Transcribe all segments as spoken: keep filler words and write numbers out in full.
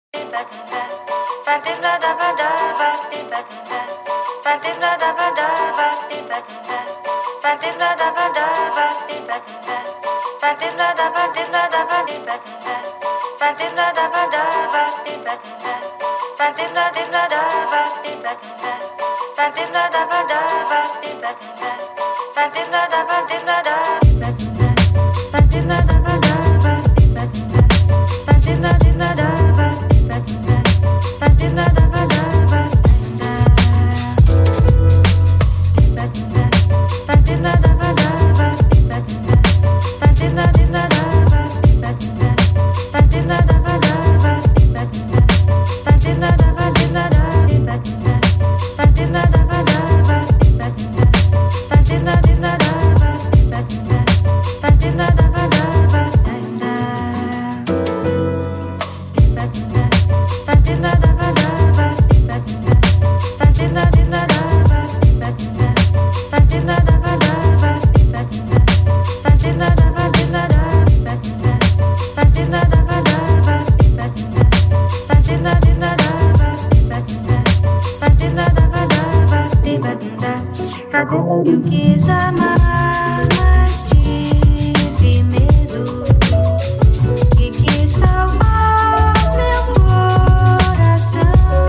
Eu quis amar, mas tive medo e quis salvar meu coração.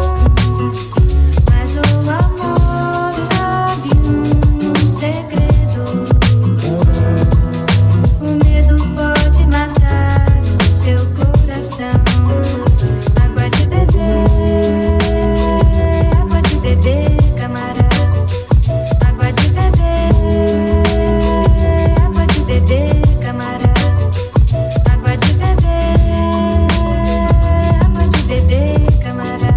Mas o amor sabe um segredo: o medo pode matar o seu coração. Água de beber, água de beber, camarada. Água de beber, água de beber, camarada. Água de beber, água de beber, camarada.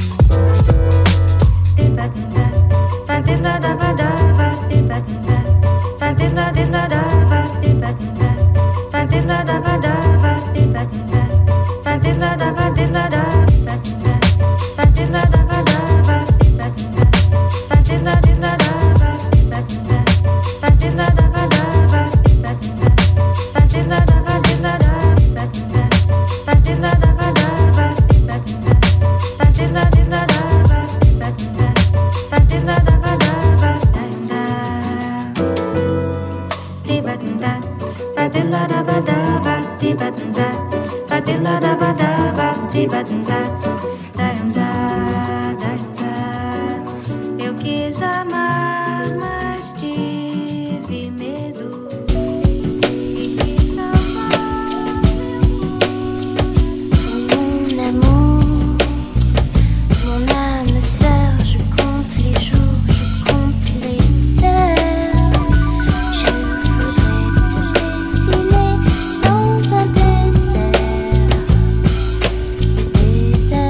Eu quis amar, mas tive medo e quis salvar mon amour, mon âme sœur. Je compte les jours, je compte les heures. Je voudrais te dessiner dans un désert, le désert.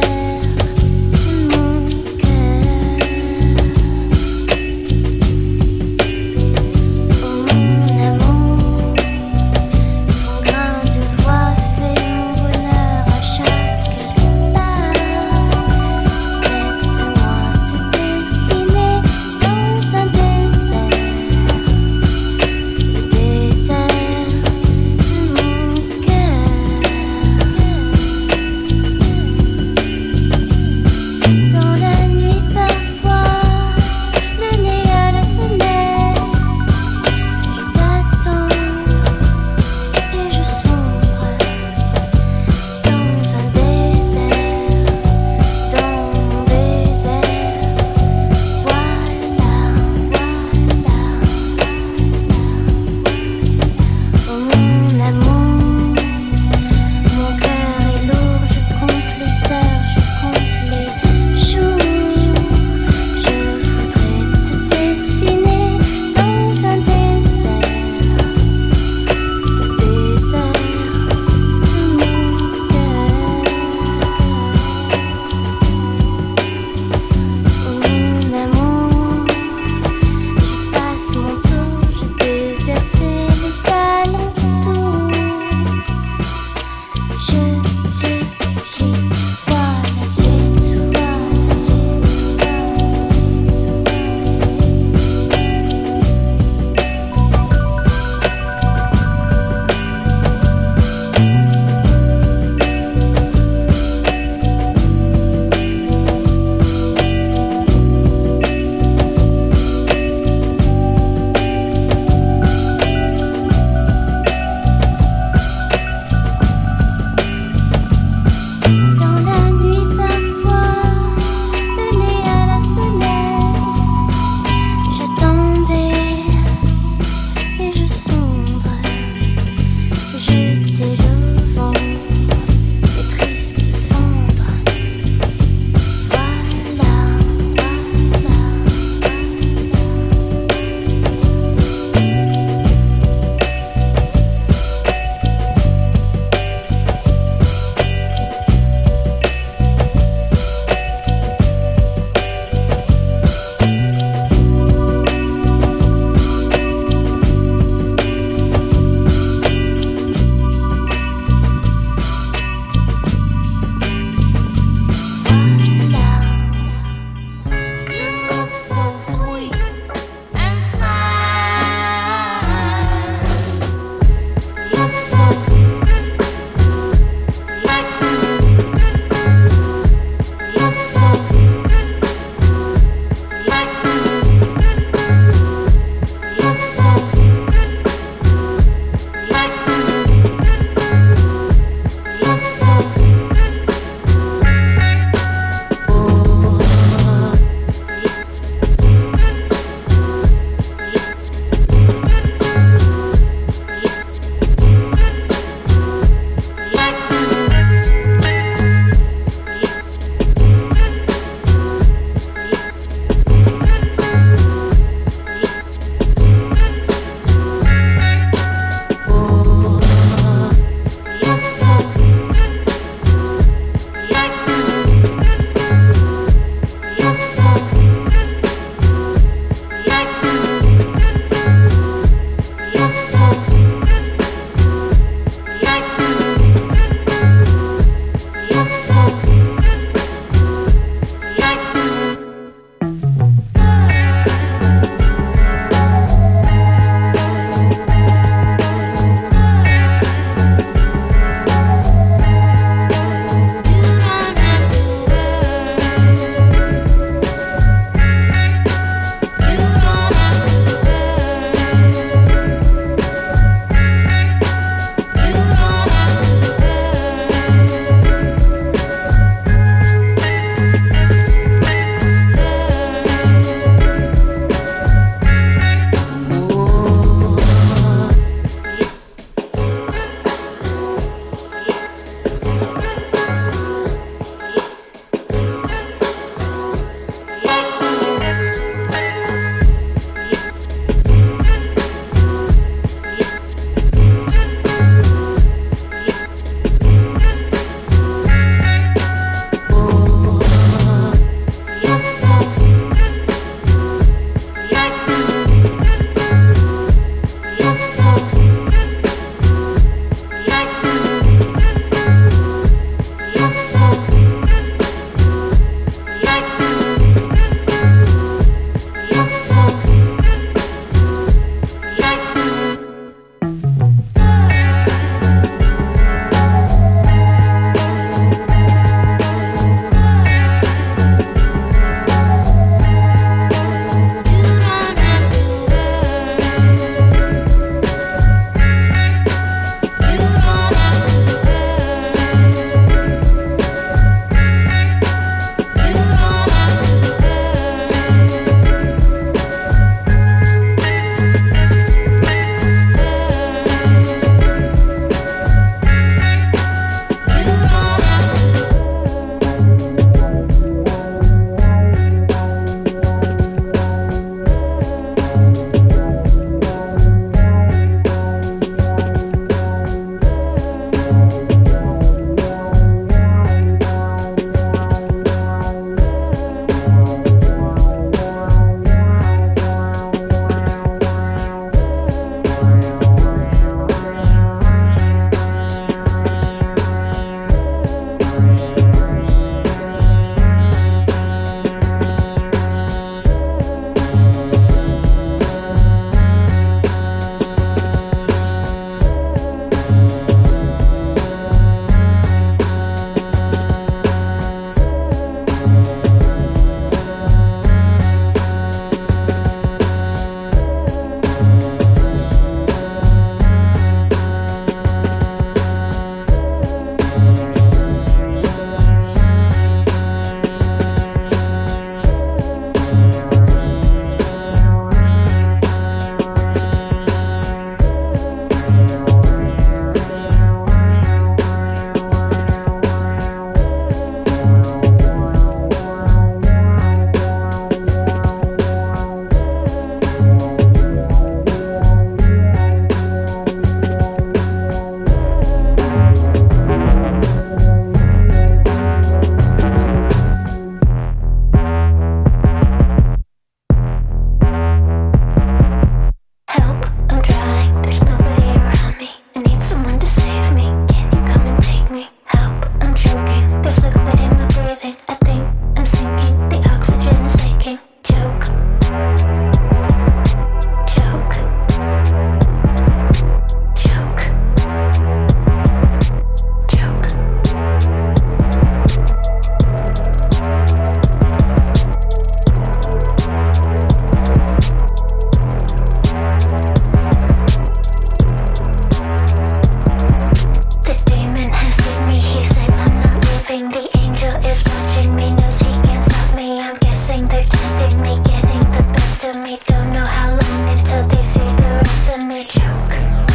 watching me, knows he can't stop me. I'm guessing they're testing me, getting the best of me. Don't know how long until they see the rest of me. Choke,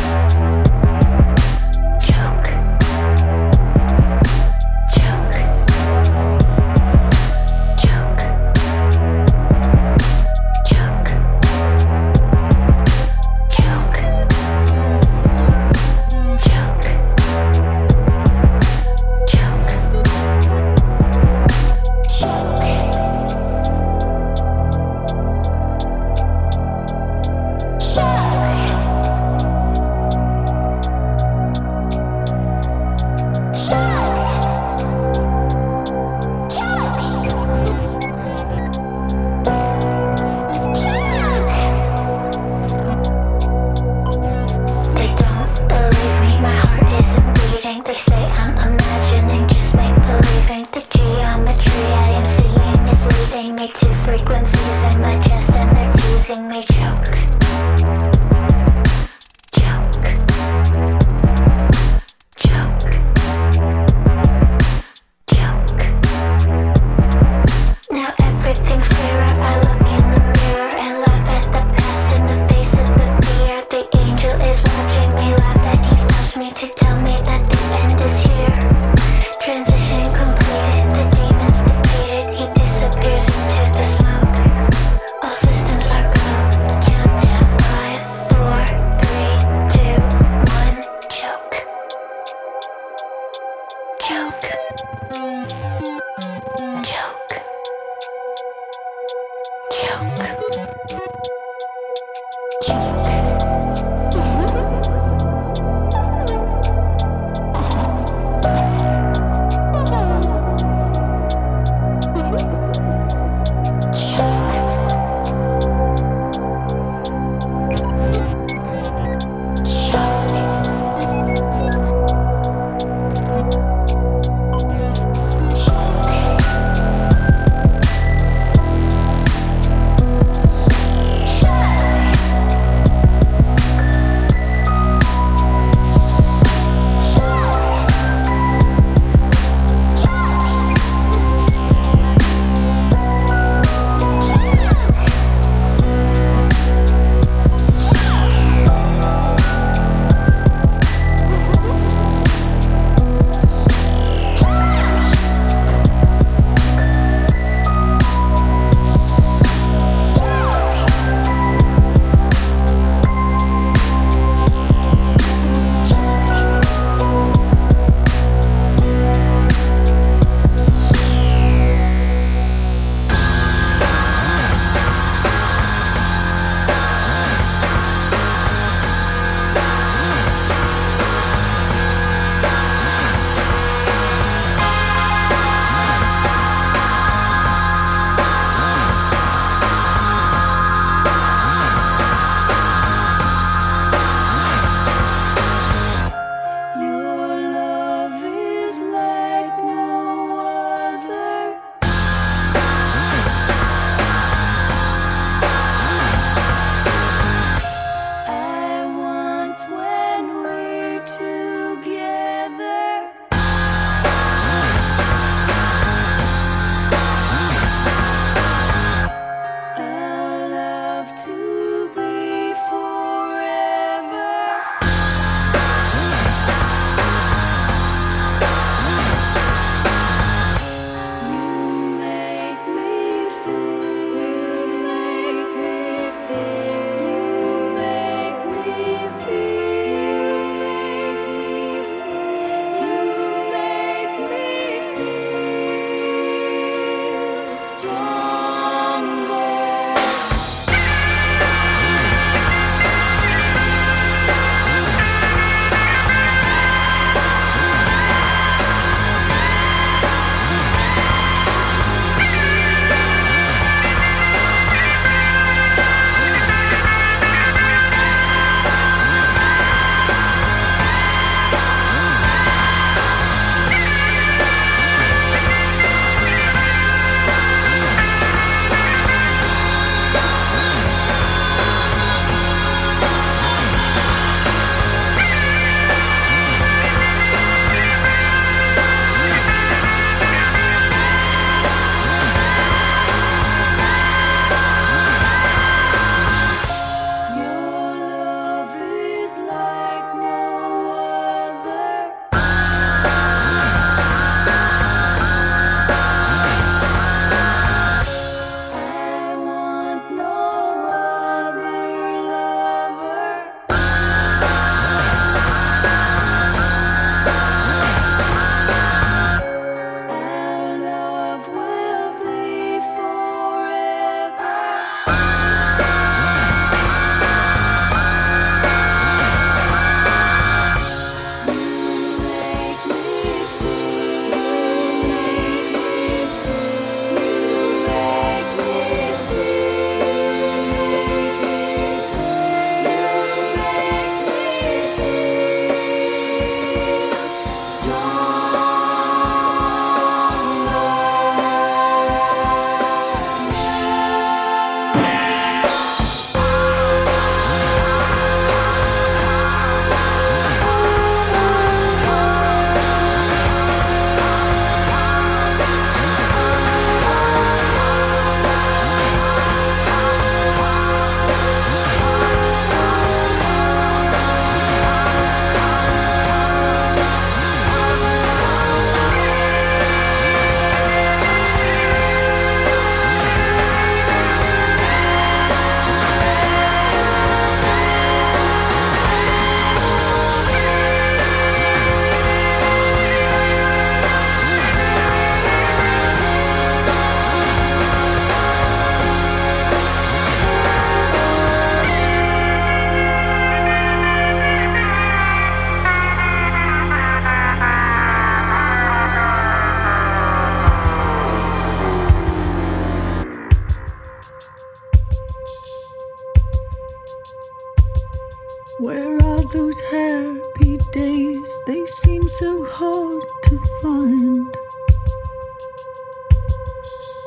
choke, choke, choke, choke, choke, choke, choke, They don't believe me, my heart isn't beating. They say I'm imagining, just make believing. The geometry I am seeing is leading me to frequencies in my chest, and they're teasing me. Choke, choke, choke, choke. Now everything's clearer. I look in the mirror and laugh at the past in the face of the fear. The angel is watching me laugh, and he stops me to tell me that the end is here. Transition completed, the demon's defeated. He disappears into the smoke. All systems are go. Countdown.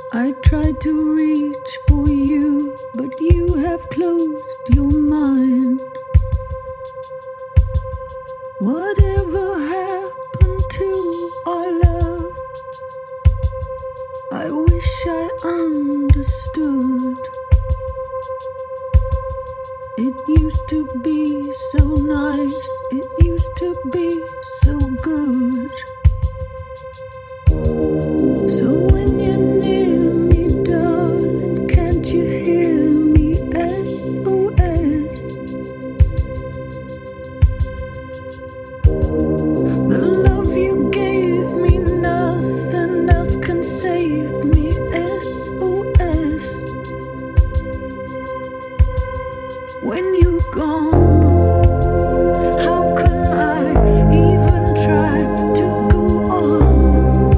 I tried to reach for you, but you have closed your mind. Whatever happened to our love? I wish I understood. It used to be so nice, it used to be so good. So when you're near me, darling, can't you hear me? S O S. The love you gave me, nothing else can save me. S O S. When you're gone, how can I even try to go on?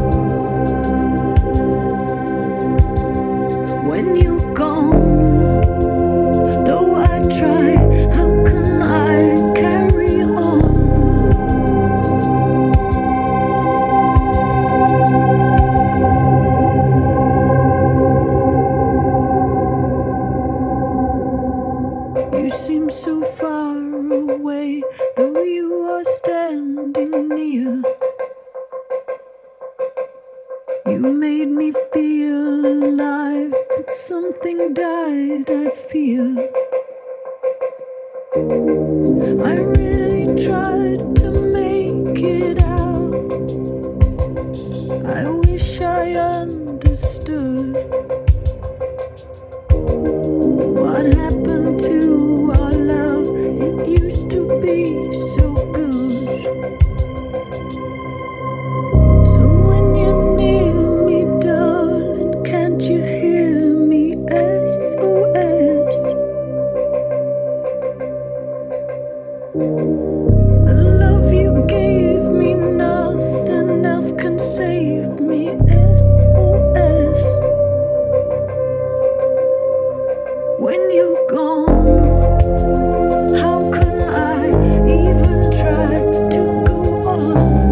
When you're gone, though I try, how can I carry on? You seem so far away, though you are standing near. You made me feel alive, but something died, I fear. I really tried to make it out. I wish I understood. What happened to our love? It used to be so good. So when you're near me, darling, can't you hear me? S O S. The love you gave me, nothing else can save me. S O S. When you're gone, how can I even try to go on?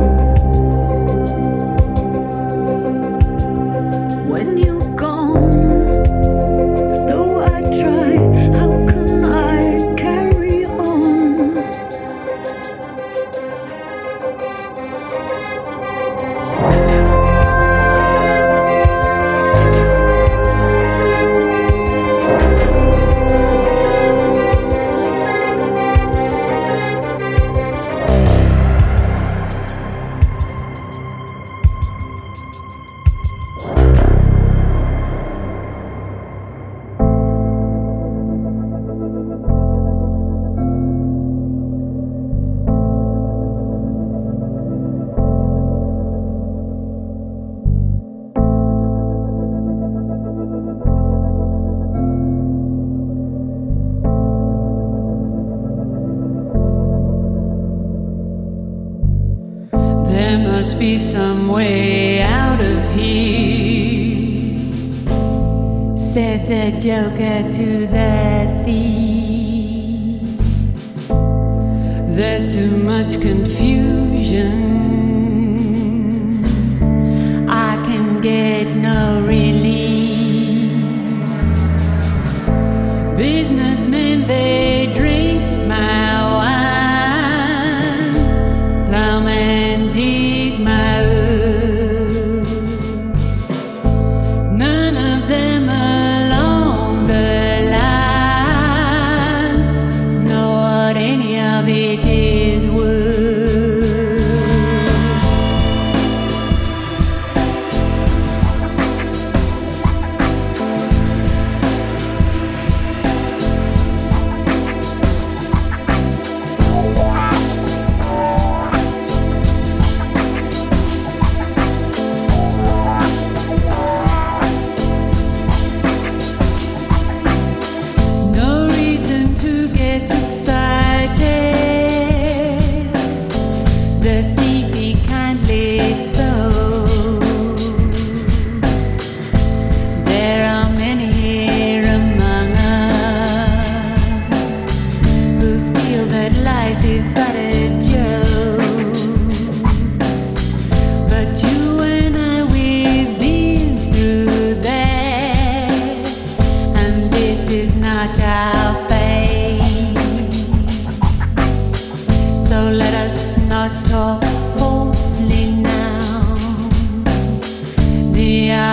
When you're gone, though I try, how can I carry on? There must be some way out of here, said the joker to the thief. There's too much confusion, I can get no relief. Businessmen, they drink my wine, plowmen dig my earth. None of them along the line know what any of it is worth.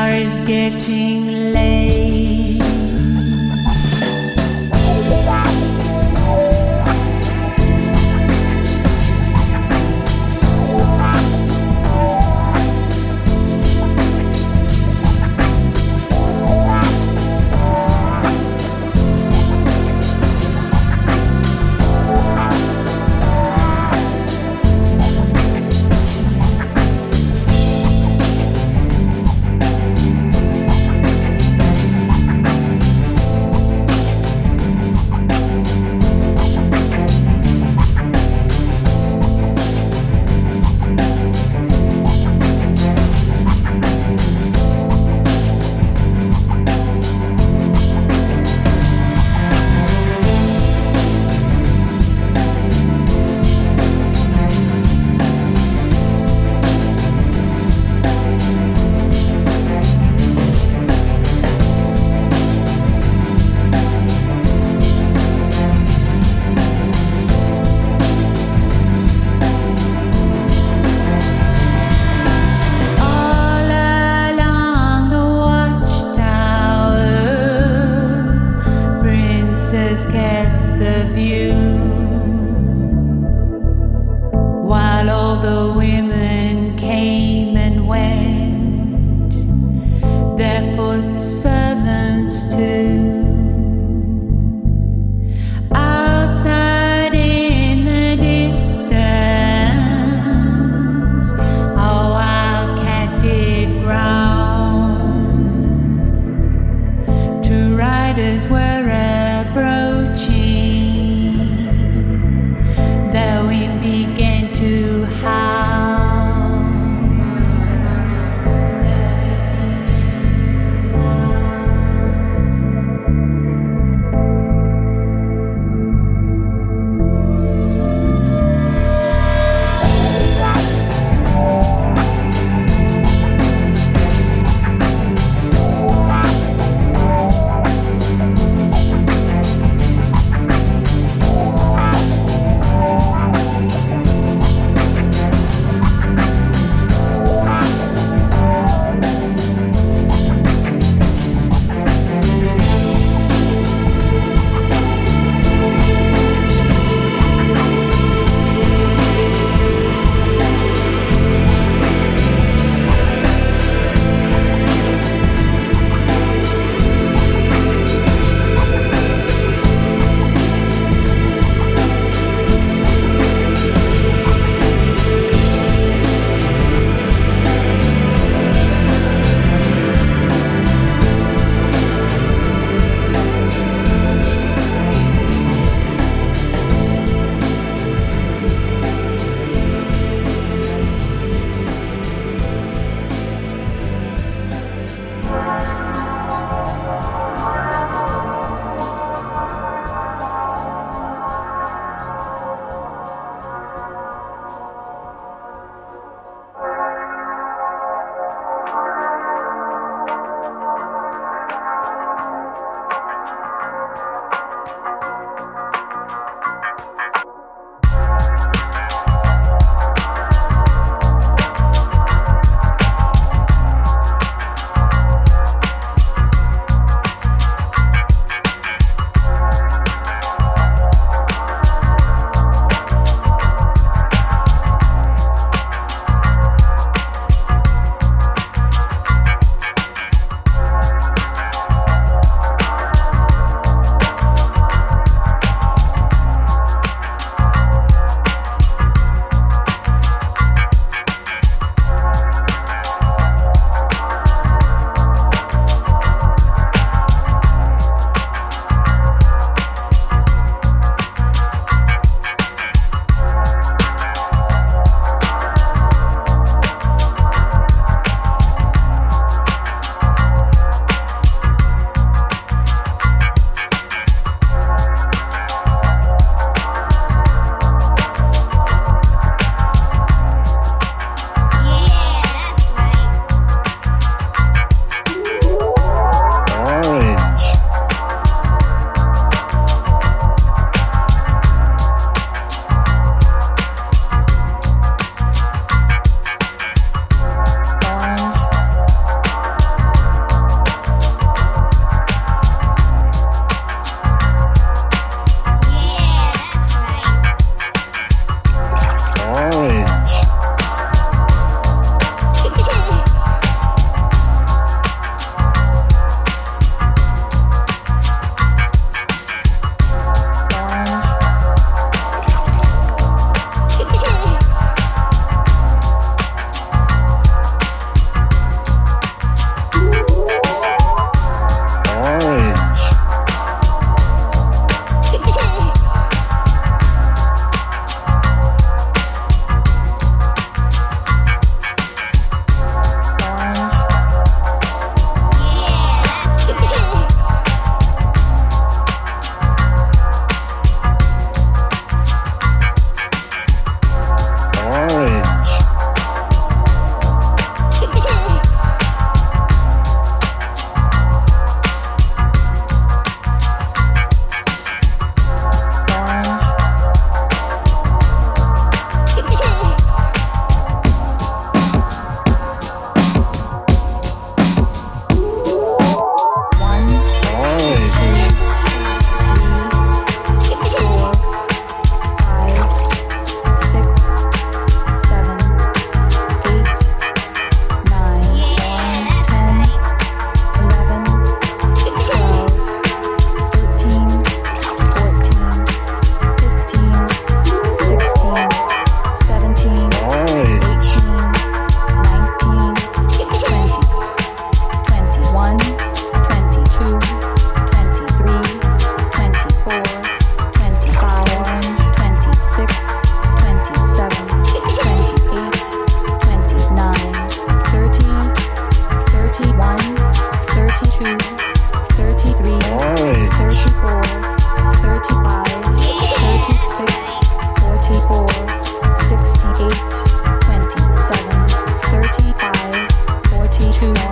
car is getting late.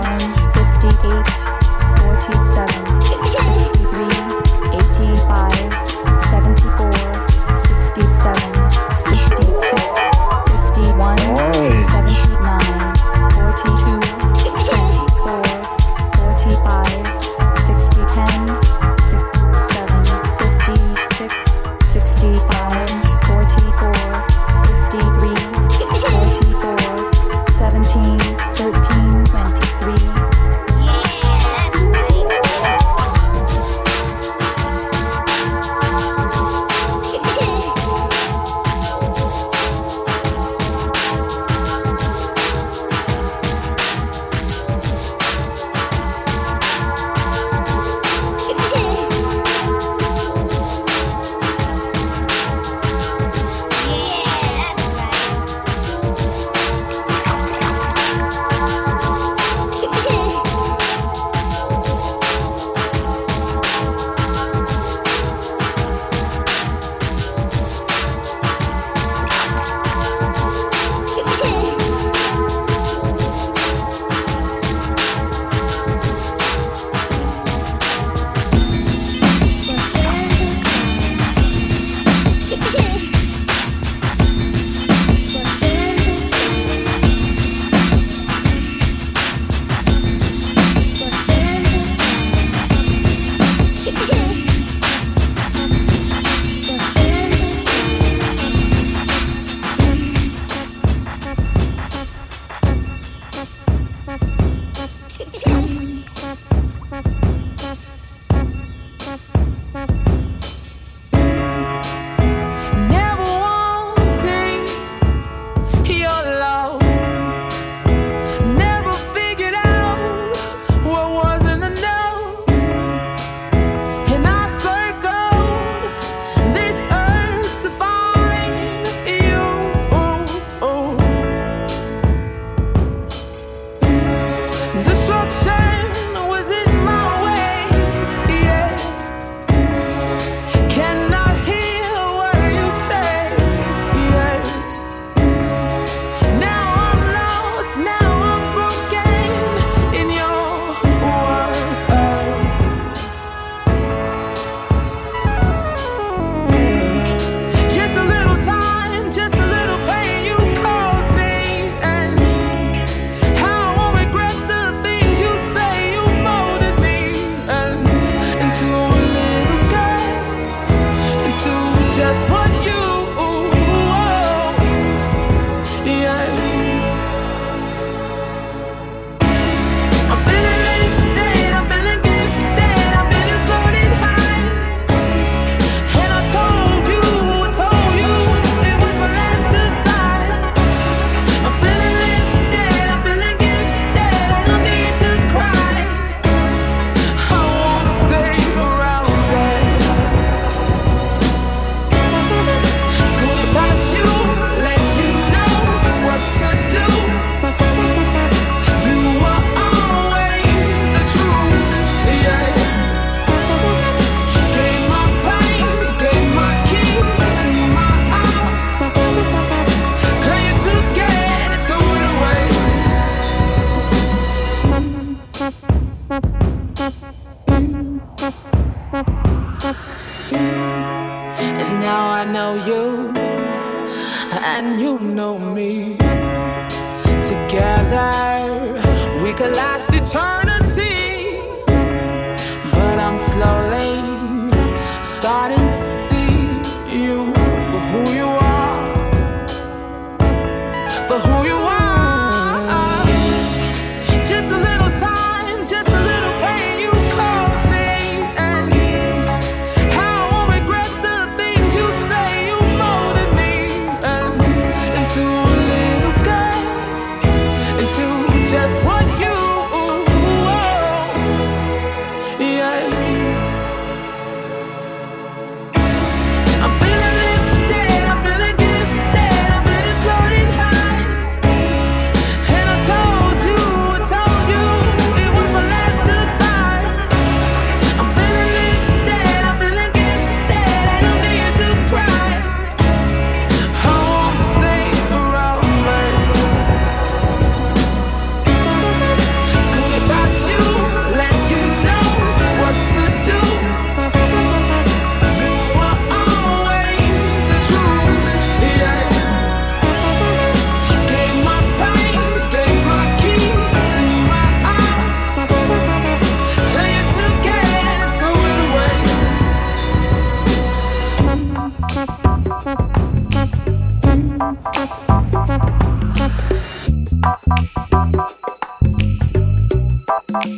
Orange fifty-eight, forty-seven, sixty-three, eighty-five, seventy-four, sixty-seven, sixty-six, fifty-one, seventy-nine, forty-two, twenty-four, forty-five, sixty, ten, sixty-seven, fifty-six, sixty-five, forty-four, fifty-three, forty-four, seventeen, thirteen, twenty-three. and you know me. Together we could last eternity, but I'm slowly starting to see you for who you are, for who you are. Just a little time, just a little pain you caused me, and how I won't regret the things you say. You molded me and into a little girl, into just what you are. Yeah.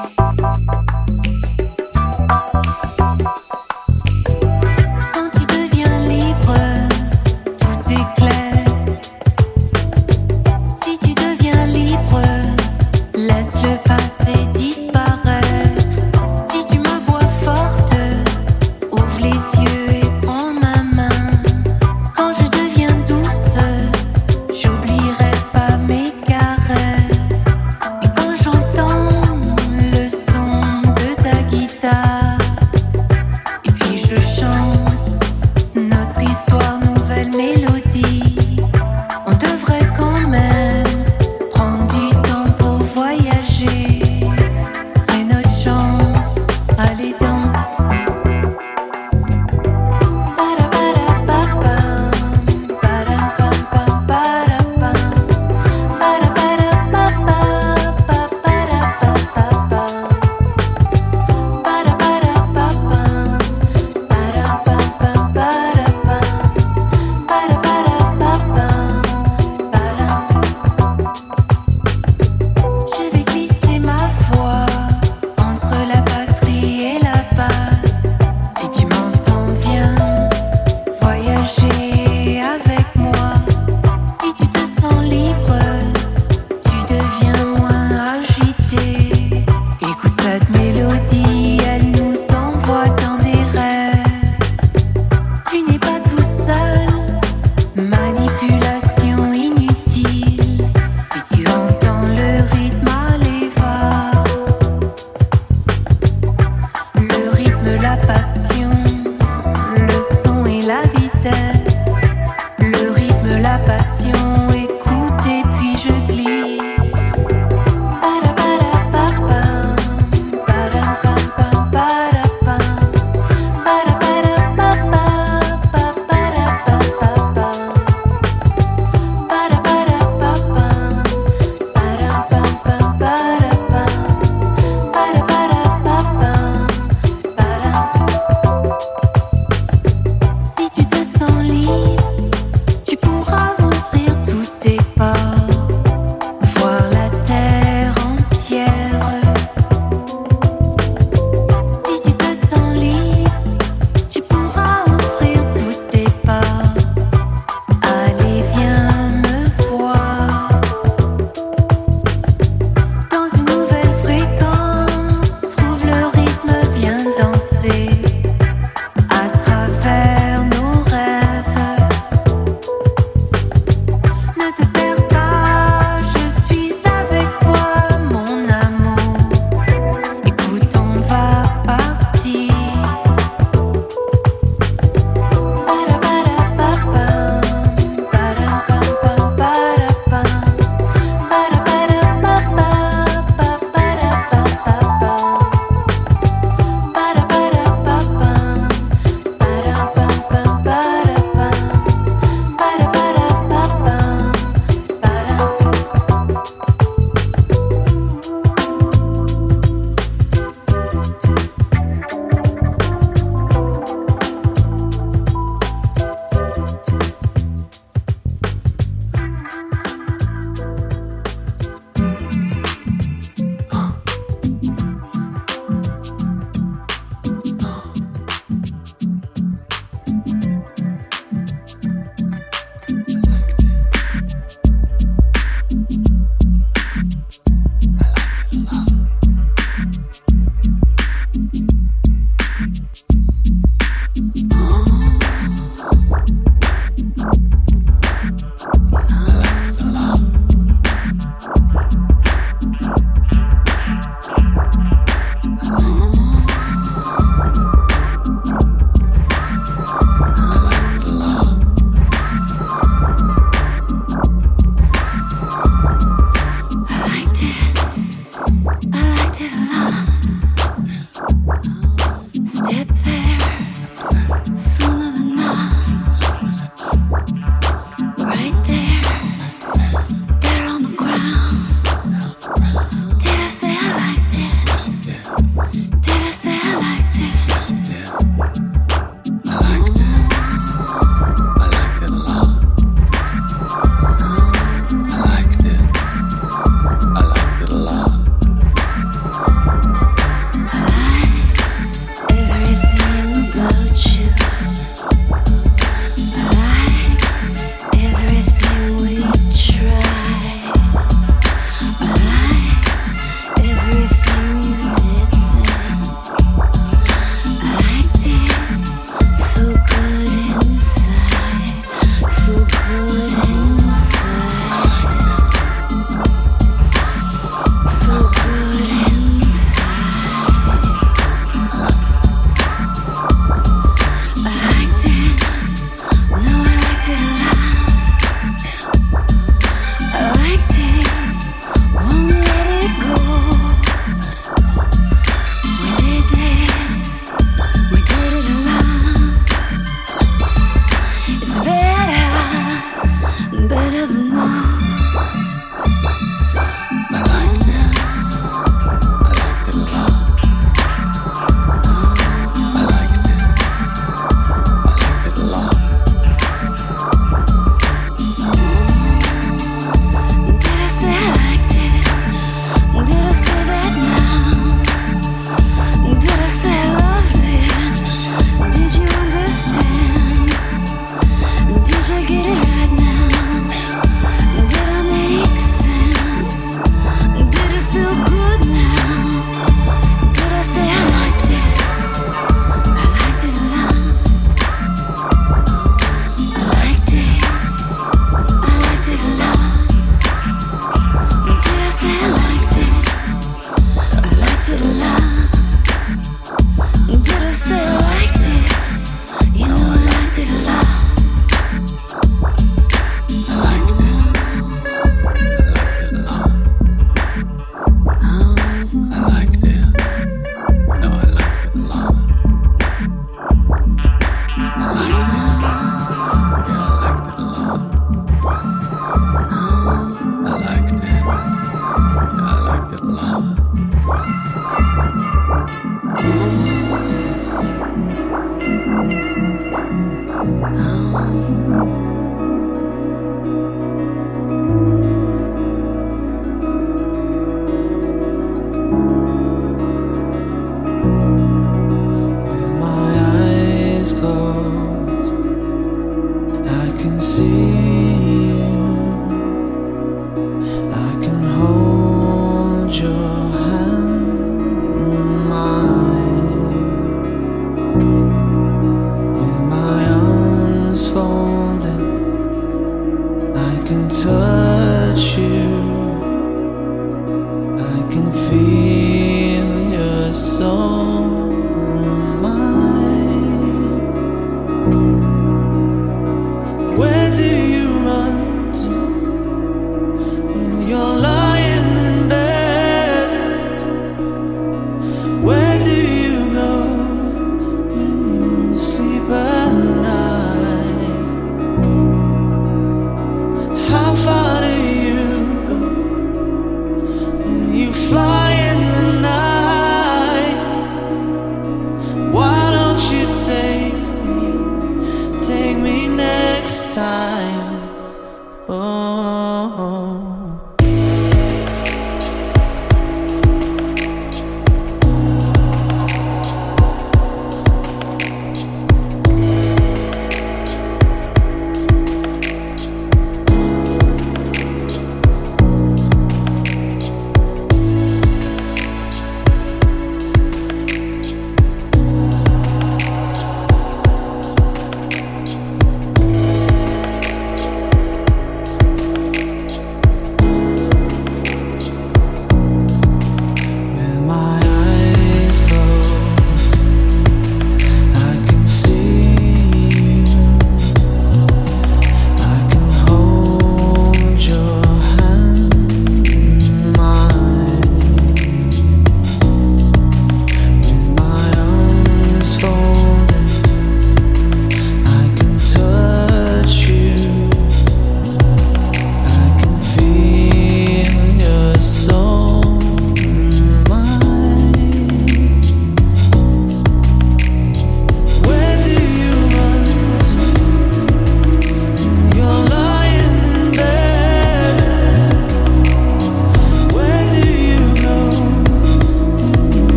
I liked it a lot.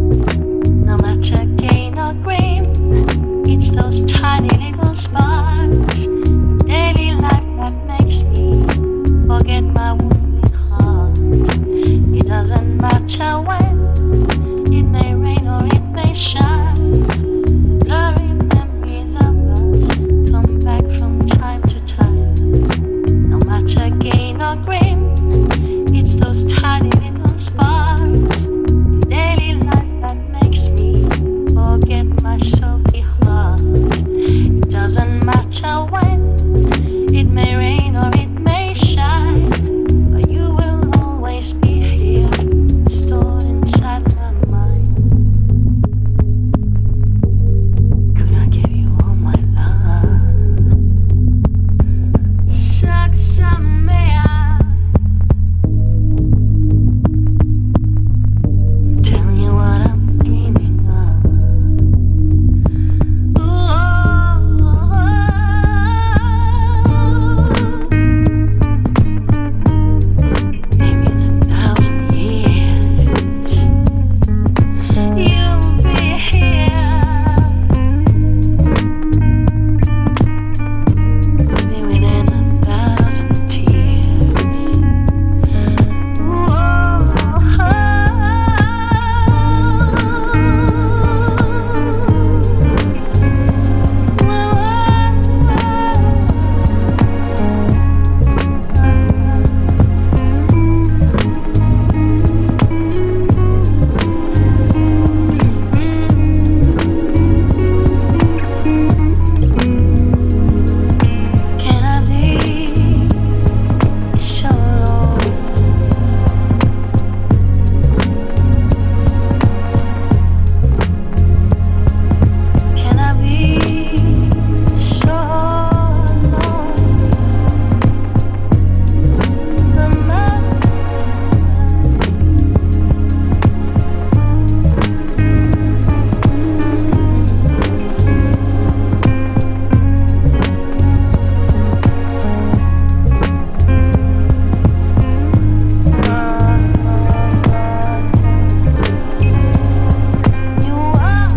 No matter gain or grain, it's those tiny little sparks, daily life that makes me forget my wounded heart. It doesn't matter when, it may rain or it may shine. Blurry memories of us come back from time to time. No matter gain or grain, it's those tiny little sparks, daily life that makes me forget my sulky heart. It doesn't matter when, it may rain or it may shine, but you will always be here, stored inside my mind. Could I give you all my love? Saksamea. Tell you what I'm dreaming of. Maybe in a thousand years you'll be here. Maybe within a thousand tears. Can I be sure? Can I be sure? The man. You are.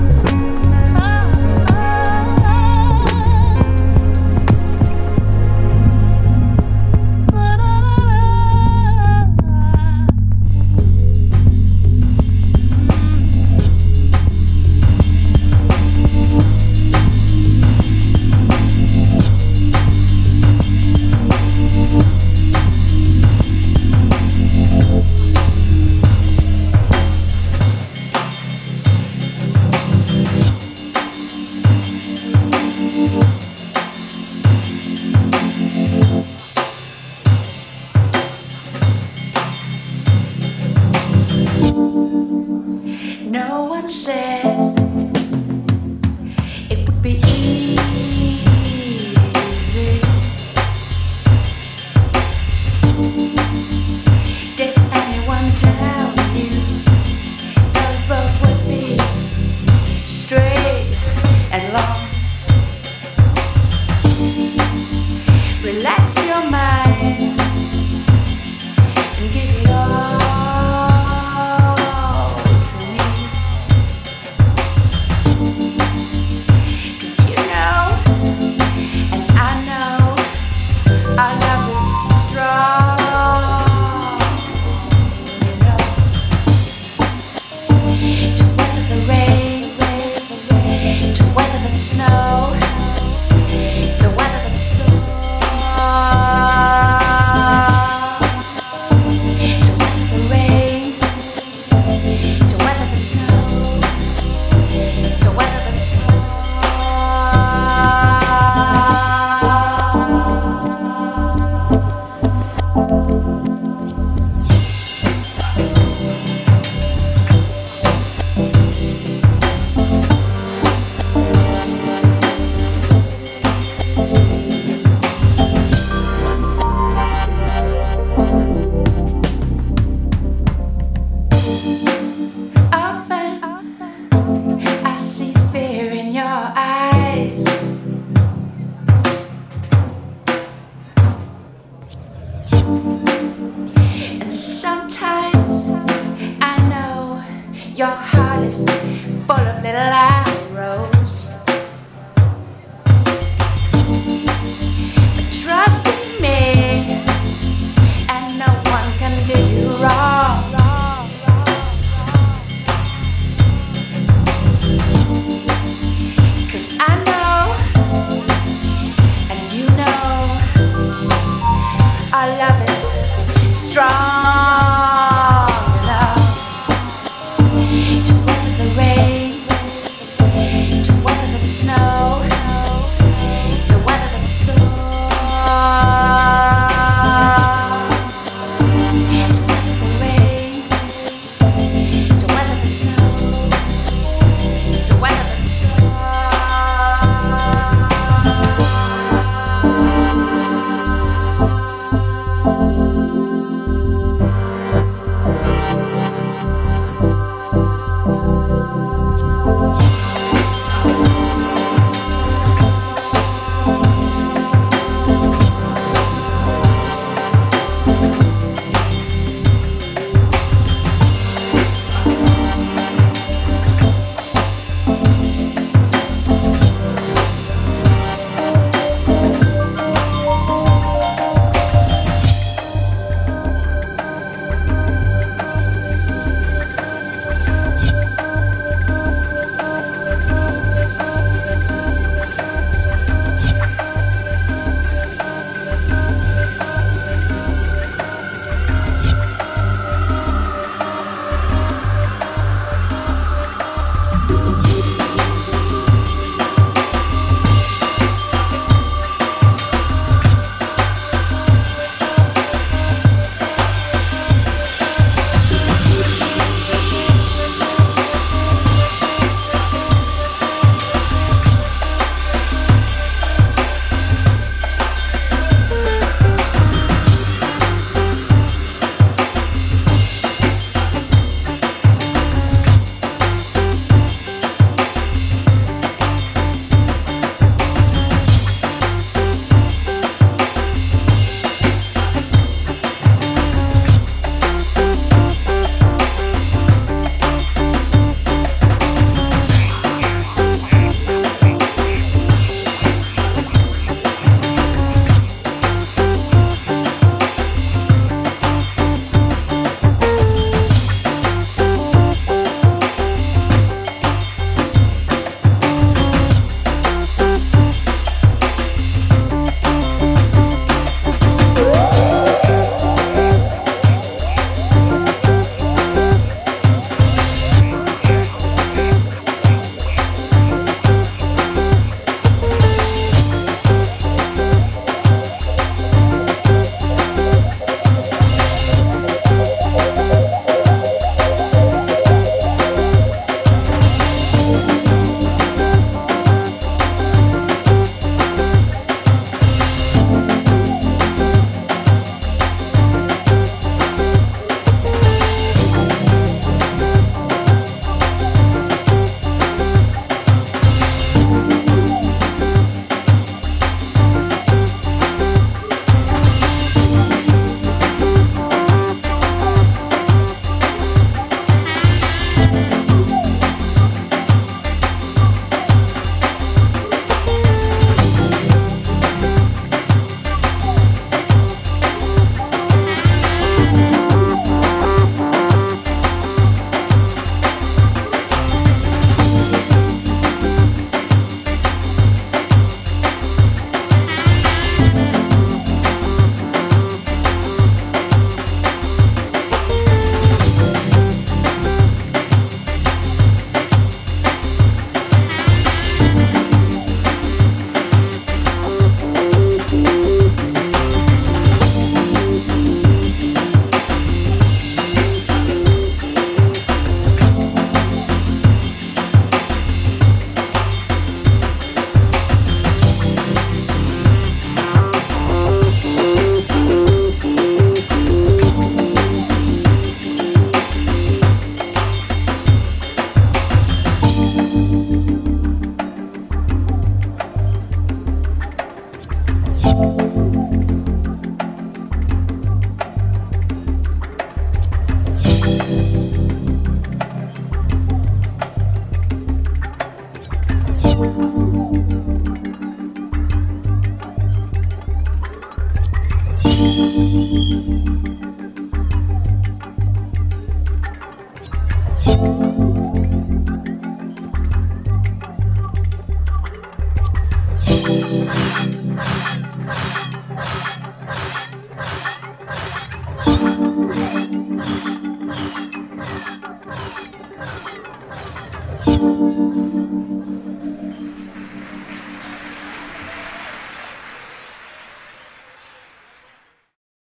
No one said it would be easy. Did anyone tell you the road would be straight and long? Relax your mind and give it all to me. full of little arrows. But trust in me, and no one can do you wrong. 'Cause I know, and you know, our love is strong enough to weather the rain, to weather the snow, to weather the storm, to weather the rain, to weather the snow, to weather the Thank